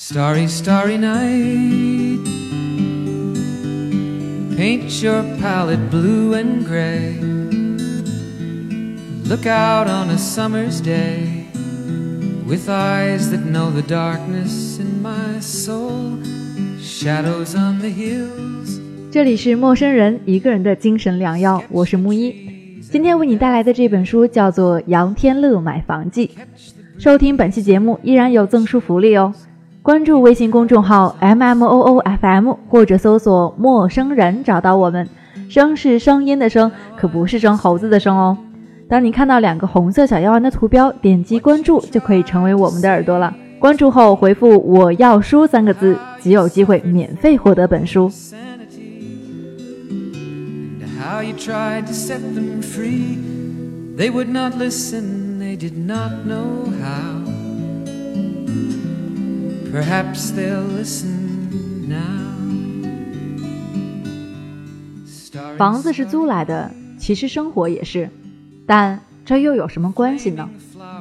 Starry, starry night, paint your palette blue and gray. Look out on a summer's day, with eyes that know the darkness in my soul, shadows on the hills. 这里是陌生人一个人的精神良药，我是木一。今天为你带来的这本书叫做《杨天乐买房记》。收听本期节目依然有赠书福利哦，关注微信公众号 MMOOFM 或者搜索陌生人找到我们。声是声音的声，可不是生猴子的声哦。当你看到2个红色小药丸的图标，点击关注就可以成为我们的耳朵了。关注后回复我要书3个字，即有机会免费获得本书。 How you tried to set them free, they would not listen, they did not know how. Perhaps they'll listen now. 房子是租来的，其实生活也是，但这又有什么关系呢？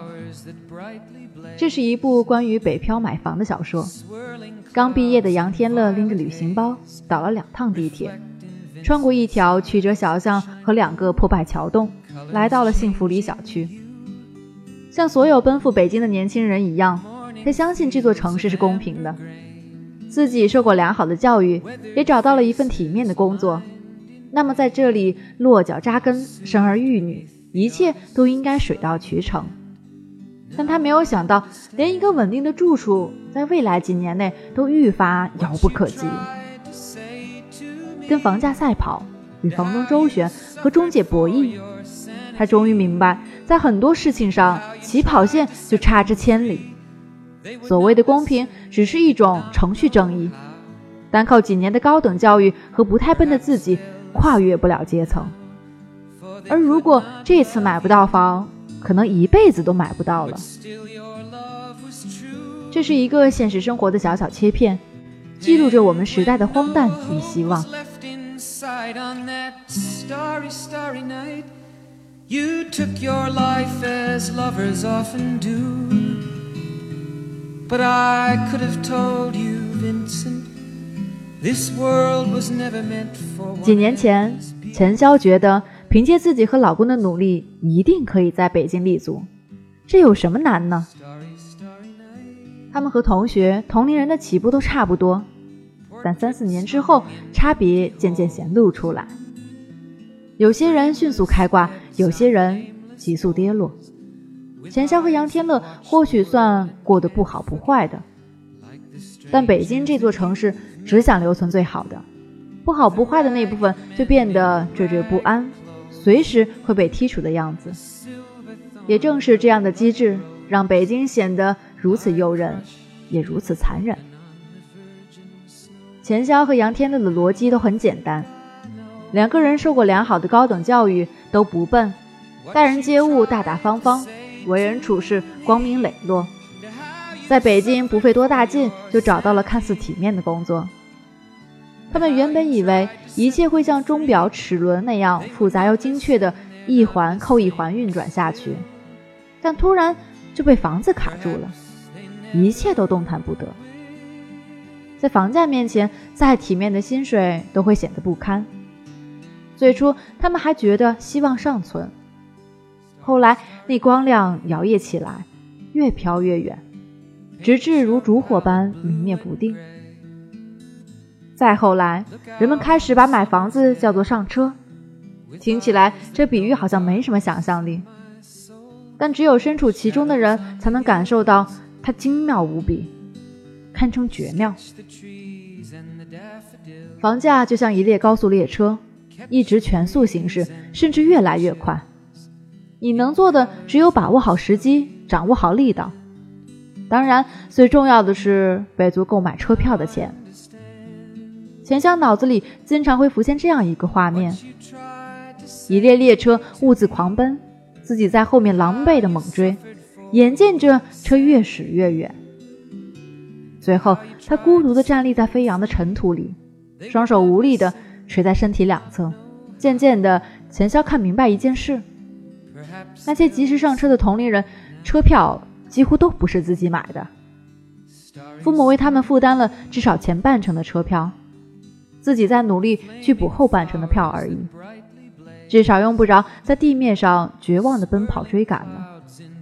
这是一部关于北漂买房的小说。刚毕业的杨天乐拎着旅行包，倒了2趟地铁，穿过一条曲折小巷和2个破败桥洞，来到了幸福里小区。像所有奔赴北京的年轻人一样，他相信这座城市是公平的，自己受过良好的教育，也找到了一份体面的工作，那么在这里落脚扎根，生儿育女，一切都应该水到渠成。但他没有想到，连一个稳定的住处在未来几年内都愈发遥不可及。跟房价赛跑，与房东周旋，和中介博弈，他终于明白，在很多事情上起跑线就差之千里。所谓的公平只是一种程序正义，单靠几年的高等教育和不太笨的自己跨越不了阶层。而如果这次买不到房，可能一辈子都买不到了。这是一个现实生活的小小切片，记录着我们时代的荒诞与希望。 On that starry, starry night, you took your life as lovers often do. But I could have told you, Vincent, this world was never meant for one. 几年前，钱潇觉得凭借自己和老公的努力，一定可以在北京立足。这有什么难呢？他们和同学、同龄人的起步都差不多。但3-4年之后，差别渐渐显露出来。有些人迅速开挂，有些人急速跌落。钱潇和杨天乐或许算过得不好不坏的，但北京这座城市只想留存最好的，不好不坏的那部分就变得惴惴不安，随时会被剔除的样子。也正是这样的机制，让北京显得如此诱人，也如此残忍。钱潇和杨天乐的逻辑都很简单，2个人受过良好的高等教育，都不笨，待人接物大大方方，为人处事光明磊落，在北京不费多大劲就找到了看似体面的工作。他们原本以为一切会像钟表齿轮那样复杂又精确的一环扣一环运转下去，但突然就被房子卡住了，一切都动弹不得。在房价面前，再体面的薪水都会显得不堪。最初他们还觉得希望尚存，后来那光亮摇曳起来，越飘越远，直至如烛火般明灭不定。再后来，人们开始把买房子叫做上车，听起来这比喻好像没什么想象力，但只有身处其中的人才能感受到它精妙无比，堪称绝妙。房价就像一列高速列车，一直全速行驶，甚至越来越快。你能做的只有把握好时机，掌握好力道。当然，最重要的是备足购买车票的钱。钱潇脑子里经常会浮现这样一个画面：一列列车兀自狂奔，自己在后面狼狈地猛追，眼见着车越驶越远。最后他孤独地站立在飞扬的尘土里，双手无力地垂在身体两侧。渐渐的，钱潇看明白一件事，那些及时上车的同龄人，车票几乎都不是自己买的。 父母为他们负担了至少前半程的车票，自己在努力去补后半程的票而已，至少用不着在地面上绝望地奔跑追赶了。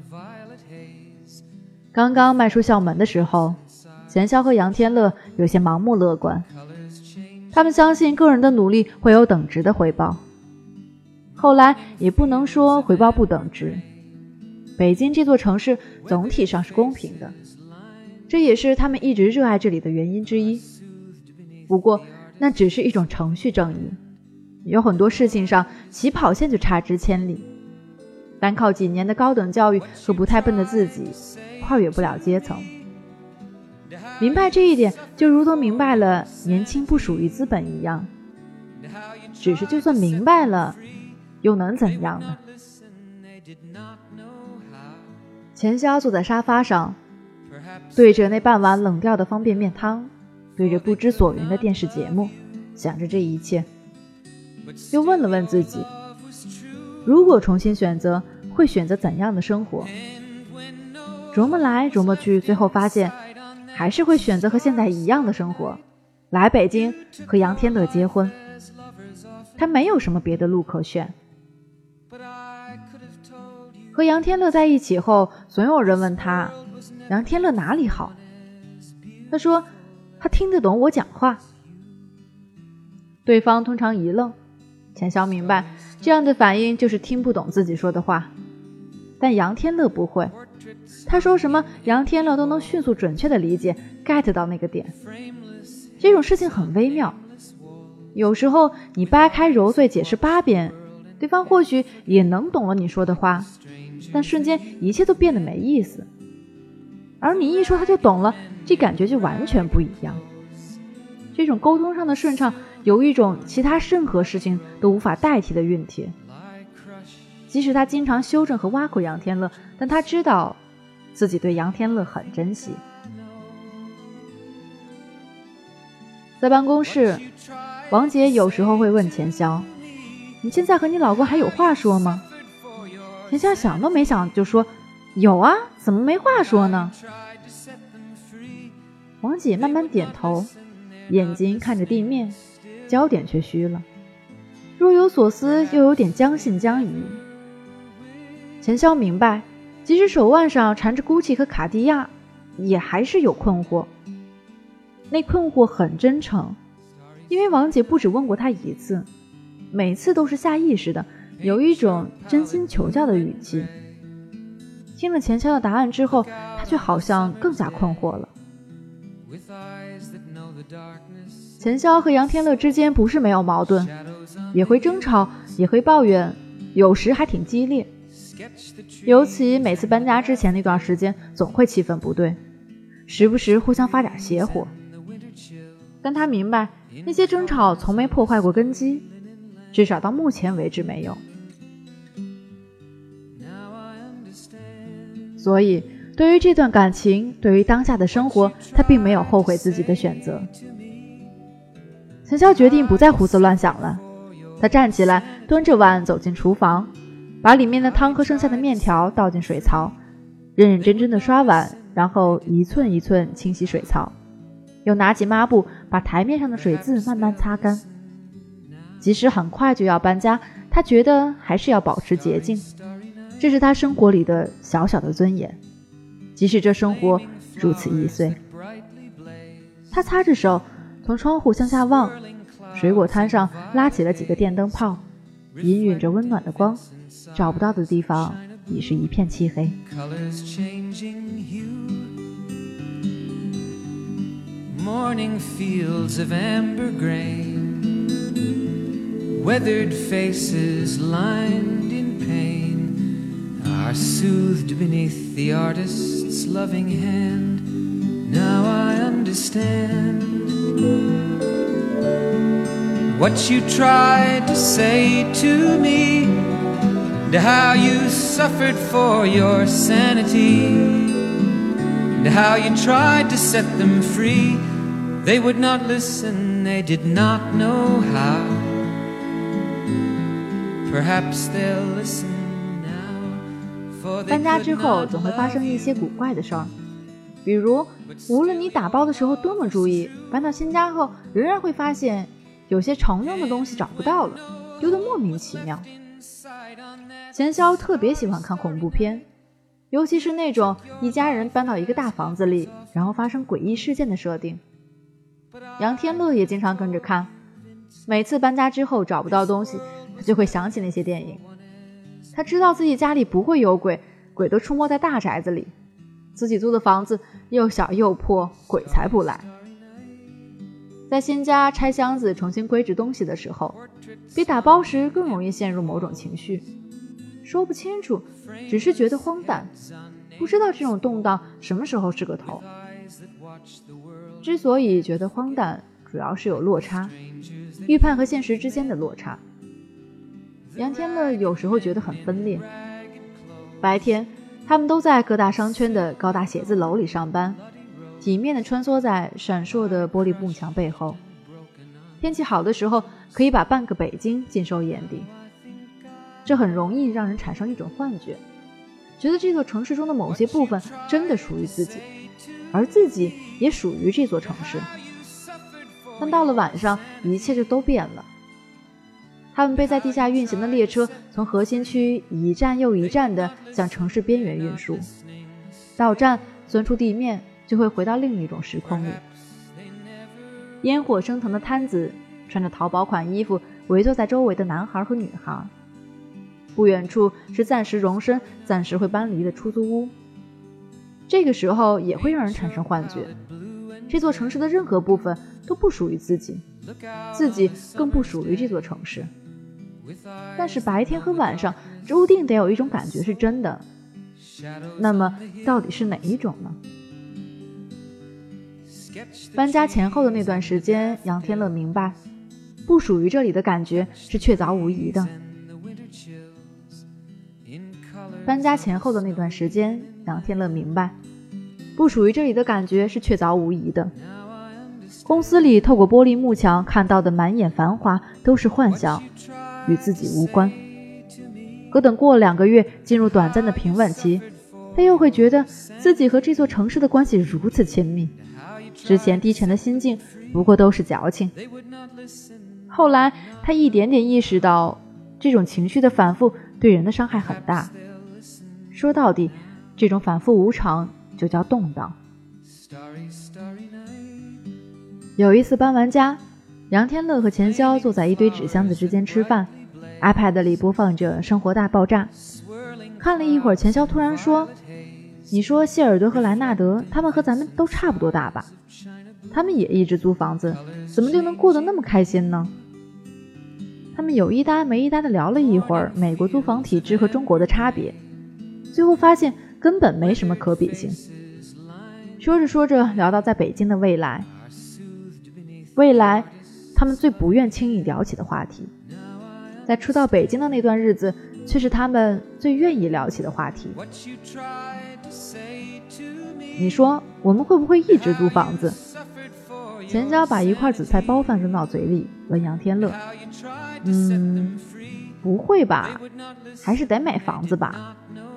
刚刚迈出校门的时候，钱潇和杨天乐有些盲目乐观，他们相信个人的努力会有等值的回报。后来也不能说回报不等值，北京这座城市总体上是公平的，这也是他们一直热爱这里的原因之一。不过那只是一种程序正义，有很多事情上起跑线就差之千里，单靠几年的高等教育和不太笨的自己跨越不了阶层。明白这一点，就如同明白了年轻不属于资本一样，只是就算明白了又能怎样呢？钱潇坐在沙发上，对着那半碗冷掉的方便面汤，对着不知所云的电视节目，想着这一切，又问了问自己，如果重新选择，会选择怎样的生活？琢磨来琢磨去，最后发现还是会选择和现在一样的生活，来北京和杨天乐结婚。他没有什么别的路可选。和杨天乐在一起后，总有人问他杨天乐哪里好，他说他听得懂我讲话。对方通常一愣，钱潇明白这样的反应就是听不懂自己说的话，但杨天乐不会，他说什么杨天乐都能迅速准确地理解 get 到那个点。这种事情很微妙，有时候你掰开揉碎解释8遍，对方或许也能懂了你说的话，但瞬间一切都变得没意思，而你一说他就懂了，这感觉就完全不一样。这种沟通上的顺畅有一种其他任何事情都无法代替的熨帖。即使他经常修正和挖苦杨天乐，但他知道自己对杨天乐很珍惜。在办公室，王杰有时候会问钱潇，你现在和你老公还有话说吗？钱潇想都没想就说，有啊，怎么没话说呢？王姐慢慢点头，眼睛看着地面，焦点却虚了，若有所思又有点将信将疑。钱潇明白，即使手腕上缠着 GUCCI 和卡地亚，也还是有困惑。那困惑很真诚，因为王姐不只问过他一次，每次都是下意识的，有一种真心求教的语气。听了钱潇的答案之后，他却好像更加困惑了。钱潇和杨天乐之间不是没有矛盾，也会争吵，也会抱怨，有时还挺激烈。尤其每次搬家之前那段时间，总会气氛不对，时不时互相发点邪火。但他明白，那些争吵从没破坏过根基，至少到目前为止没有。所以对于这段感情，对于当下的生活，他并没有后悔自己的选择。钱潇决定不再胡思乱想了，他站起来，端着碗走进厨房，把里面的汤和剩下的面条倒进水槽，认认真真的刷碗，然后一寸一寸清洗水槽，又拿起抹布把台面上的水渍慢慢擦干。即使很快就要搬家，他觉得还是要保持洁净，这是他生活里的小小的尊严，即使这生活如此易碎。他擦着手，从窗户向下望，水果摊上拉起了几个电灯泡，氤氲着温暖的光，找不到的地方已是一片漆黑。 Morning fields of amber grain, weathered faces lined in pain are soothed beneath the artist's loving hand. Now I understand what you tried to say to me, and how you suffered for your sanity, and how you tried to set them free. They would not listen, they did not know how. Perhaps they'll listen now, for they 搬家之 could 后 not 总会发生一些古怪的事儿， 比如无论你打包的时候多么注意，搬到新家后仍然会发现有些常用的东西找不到了，丢得莫名其妙。钱潇特别喜欢看恐怖片，尤其是那种一家人搬到一个大房子里，然后发生诡异事件的设定。杨天乐也经常跟着看，每次搬家之后找不到东西，他就会想起那些电影。他知道自己家里不会有鬼，鬼都出没在大宅子里，自己租的房子又小又破，鬼才不来。在新家拆箱子重新归置东西的时候，比打包时更容易陷入某种情绪，说不清楚，只是觉得荒诞，不知道这种动荡什么时候是个头。之所以觉得荒诞，主要是有落差，预判和现实之间的落差。杨天乐有时候觉得很分裂。白天他们都在各大商圈的高大写字楼里上班，体面地穿梭在闪烁的玻璃幕墙背后，天气好的时候可以把半个北京尽收眼底。这很容易让人产生一种幻觉，觉得这座城市中的某些部分真的属于自己，而自己也属于这座城市。但到了晚上，一切就都变了。他们被在地下运行的列车从核心区一站又一站地向城市边缘运输，到站钻出地面，就会回到另一种时空里。烟火升腾的摊子，穿着淘宝款衣服围坐在周围的男孩和女孩。不远处是暂时容身、暂时会搬离的出租屋。这个时候也会让人产生幻觉，这座城市的任何部分都不属于自己，自己更不属于这座城市。但是白天和晚上注定得有一种感觉是真的，那么到底是哪一种呢？搬家前后的那段时间，杨天乐明白，不属于这里的感觉是确凿无疑的。搬家前后的那段时间，杨天乐明白，不属于这里的感觉是确凿无疑的。公司里透过玻璃幕墙看到的满眼繁华都是幻想，与自己无关。可等过了2个月，进入短暂的平稳期，他又会觉得自己和这座城市的关系如此亲密，之前低沉的心境不过都是矫情。后来他一点点意识到，这种情绪的反复对人的伤害很大。说到底，这种反复无常就叫动荡。有一次搬完家，杨天乐和钱潇坐在一堆纸箱子之间吃饭， iPad 里播放着《生活大爆炸》。看了一会儿，钱潇突然说，你说谢尔德和莱纳德他们和咱们都差不多大吧？他们也一直租房子，怎么就能过得那么开心呢？他们有一搭没一搭地聊了一会儿美国租房体制和中国的差别，最后发现根本没什么可比性。说着说着聊到在北京的未来，他们最不愿轻易聊起的话题，在初到北京的那段日子却是他们最愿意聊起的话题。你说我们会不会一直租房子？钱潇把一块紫菜包饭扔到嘴里，问杨天乐，不会吧，还是得买房子吧。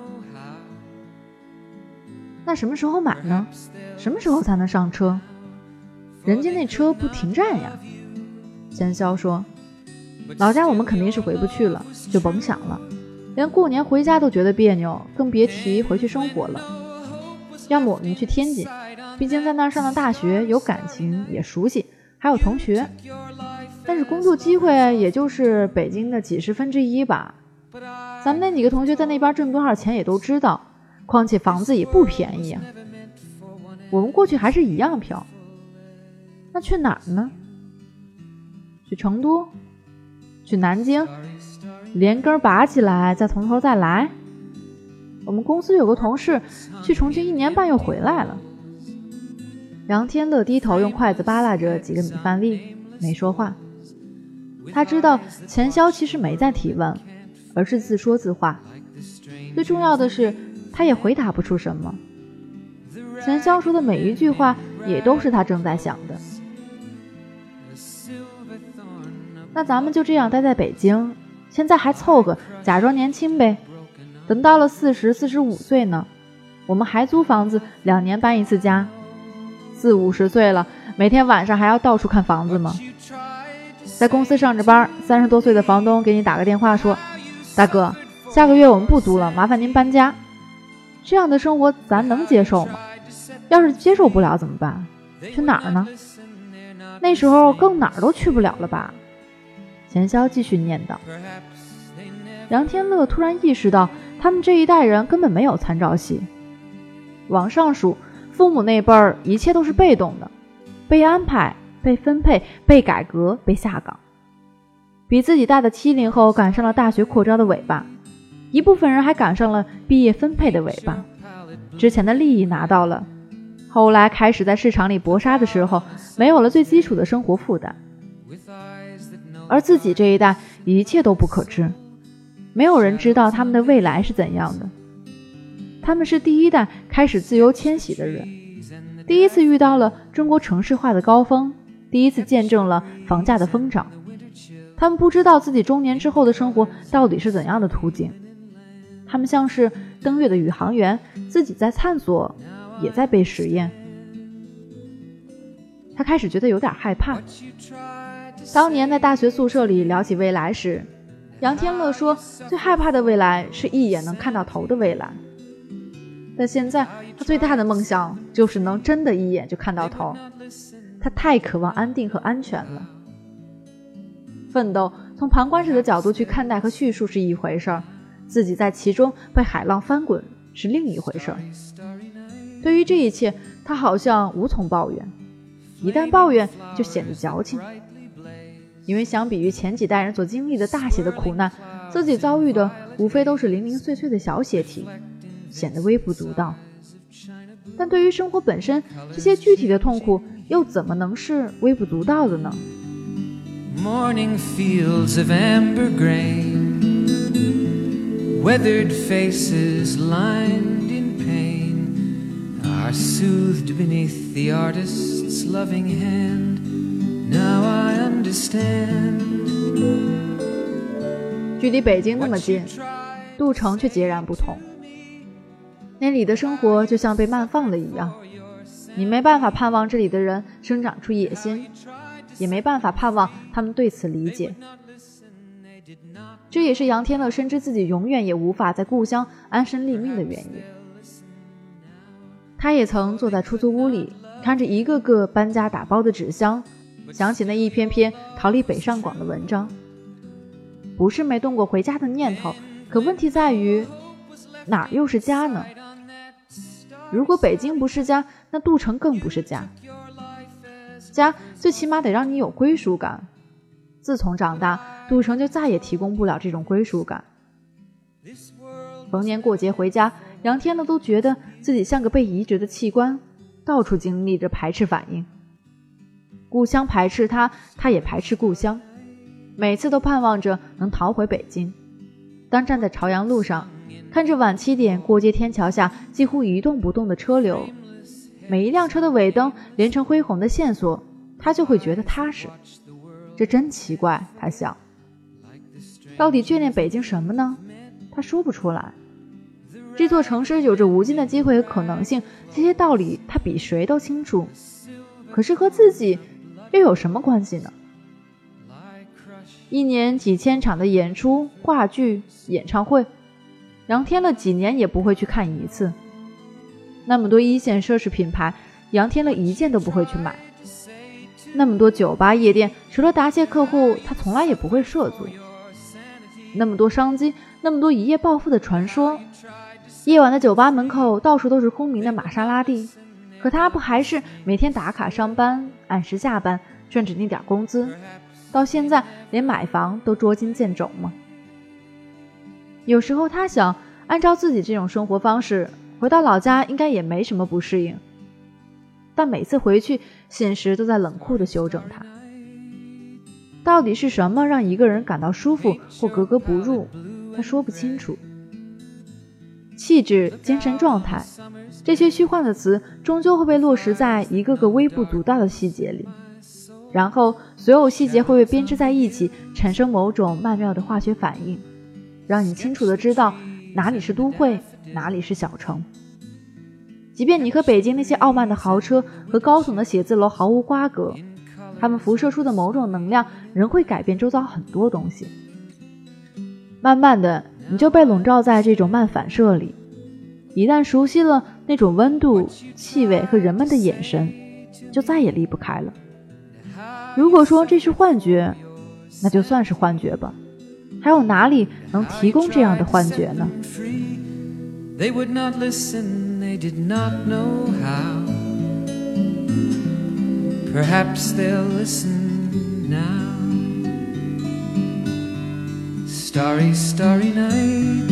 那什么时候买呢？什么时候才能上车？人家那车不停站呀。钱潇说，老家我们肯定是回不去了，就甭想了，连过年回家都觉得别扭，更别提回去生活了。要么我们去天津，毕竟在那儿上的大学，有感情也熟悉，还有同学，但是工作机会也就是北京的几十分之一吧。咱们那几个同学在那边挣多少钱也都知道，况且房子也不便宜啊。我们过去还是一样票。那去哪儿呢？去成都？去南京？连根拔起来，再从头再来？我们公司有个同事去重庆1年半又回来了。杨天乐低头用筷子扒拉着几个米饭粒，没说话。他知道钱潇其实没在提问，而是自说自话。最重要的是，他也回答不出什么。钱潇说的每一句话也都是他正在想的。那咱们就这样待在北京，现在还凑合假装年轻呗，等到了40、45岁呢， 我们还租房子，2年搬一次家，40、50岁了，每天晚上还要到处看房子吗？在公司上着班，30多岁的房东给你打个电话说，大哥，下个月我们不租了，麻烦您搬家。这样的生活咱能接受吗？要是接受不了怎么办？去哪儿呢？那时候更哪儿都去不了了吧？钱潇继续念叨。杨天乐突然意识到，他们这一代人根本没有参照系。往上数，父母那辈儿一切都是被动的，被安排、被分配、被改革、被下岗。比自己大的70后赶上了大学扩招的尾巴，一部分人还赶上了毕业分配的尾巴。之前的利益拿到了，后来开始在市场里搏杀的时候，没有了最基础的生活负担。而自己这一代一切都不可知，没有人知道他们的未来是怎样的。他们是第一代开始自由迁徙的人，第一次遇到了中国城市化的高峰，第一次见证了房价的疯涨。他们不知道自己中年之后的生活到底是怎样的途径，他们像是登月的宇航员，自己在探索，也在被实验。他开始觉得有点害怕。当年在大学宿舍里聊起未来时，杨天乐说最害怕的未来是一眼能看到头的未来。但现在他最大的梦想就是能真的一眼就看到头。他太渴望安定和安全了。奋斗从旁观者的角度去看待和叙述是一回事儿，自己在其中被海浪翻滚是另一回事儿。对于这一切，他好像无从抱怨，一旦抱怨就显得矫情。因为相比于前几代人所经历的大写的苦难，自己遭遇的无非都是零零碎碎的小血题，显得微不足道。但对于生活本身，这些具体的痛苦又怎么能是微不足道的呢？ Morning fields of amber grain, weathered faces lined in pain, are soothed beneath the artist's loving hand. Now I understand. 距离北京那么近，杜城却截然不同。那里的生活就像被慢放了一样，你没办法盼望这里的人生长出野心，也没办法盼望他们对此理解。这也是杨天乐深知自己永远也无法在故乡安身立命的原因。他也曾坐在出租屋里，看着一个个搬家打包的纸箱，想起那一篇篇逃离北上广的文章。不是没动过回家的念头，可问题在于哪又是家呢？如果北京不是家，那杜城更不是家。家最起码得让你有归属感。自从长大，杜城就再也提供不了这种归属感。逢年过节回家，杨天乐都觉得自己像个被移植的器官，到处经历着排斥反应。故乡排斥他，他也排斥故乡，每次都盼望着能逃回北京。当站在朝阳路上，看着晚7点过街天桥下几乎一动不动的车流，每一辆车的尾灯连成恢宏的线索，他就会觉得踏实。这真奇怪，他想，到底眷恋北京什么呢？他说不出来。这座城市有着无尽的机会和可能性，这些道理他比谁都清楚，可是和自己又有什么关系呢？一年几千场的演出、话剧、演唱会，杨天乐几年也不会去看一次。那么多一线奢侈品牌，杨天乐一件都不会去买。那么多酒吧夜店，除了答谢客户，他从来也不会涉足。那么多商机，那么多一夜暴富的传说，夜晚的酒吧门口到处都是空明的玛莎拉蒂，可他不还是每天打卡上班，按时下班，赚着那点工资，到现在连买房都捉襟见肘吗？有时候他想，按照自己这种生活方式，回到老家应该也没什么不适应，但每次回去，现实都在冷酷地修正他。到底是什么让一个人感到舒服或格格不入，他说不清楚。气质、精神状态，这些虚幻的词终究会被落实在一个个微不足道的细节里，然后所有细节会被编织在一起，产生某种曼妙的化学反应，让你清楚地知道哪里是都会，哪里是小城。 即便你和北京那些傲慢的豪车和高耸的写字楼毫无瓜葛，它们辐射出的某种能量仍会改变周遭很多东西。慢慢的，你就被笼罩在这种慢反射里，一旦熟悉了那种温度、气味和人们的眼神，就再也离不开了。如果说这是幻觉，那就算是幻觉吧，还有哪里能提供这样的幻觉呢？ They would not listen, they did not know how. Perhaps they'll listen now. Starry, starry night.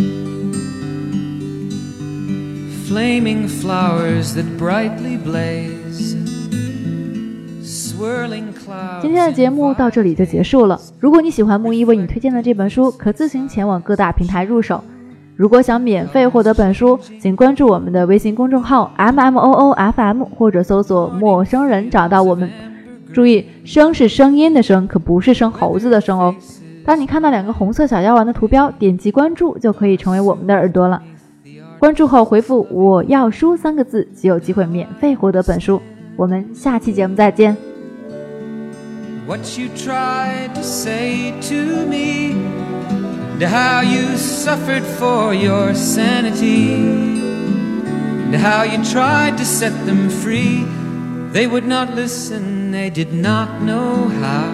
Flaming flowers that brightly blaze. Swirling clouds. 今天的节目到这里就结束了。如果你喜欢木一为你推荐的这本书，可自行前往各大平台入手。如果想免费获得本书，请关注我们的微信公众号 MMOOFM 或者搜索陌生人找到我们。注意，声是声音的声，可不是生猴子的声哦。当你看到2个红色小药丸的图标，点击关注就可以成为我们的耳朵了。关注后回复我要书3个字，即有机会免费获得本书。我们下期节目再见。 What you tried to say to me, and how you suffered for your sanity, and how you tried to set them free. They would not listen, they did not know how.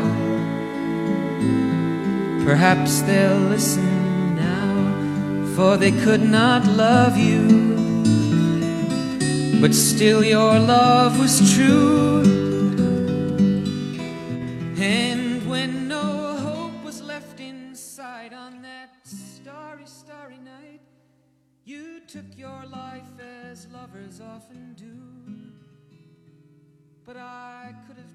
Perhaps they'll listen now, for they could not love you, but still your love was true. And when no hope was left inside on that starry, starry night, you took your life as lovers often do. But I could have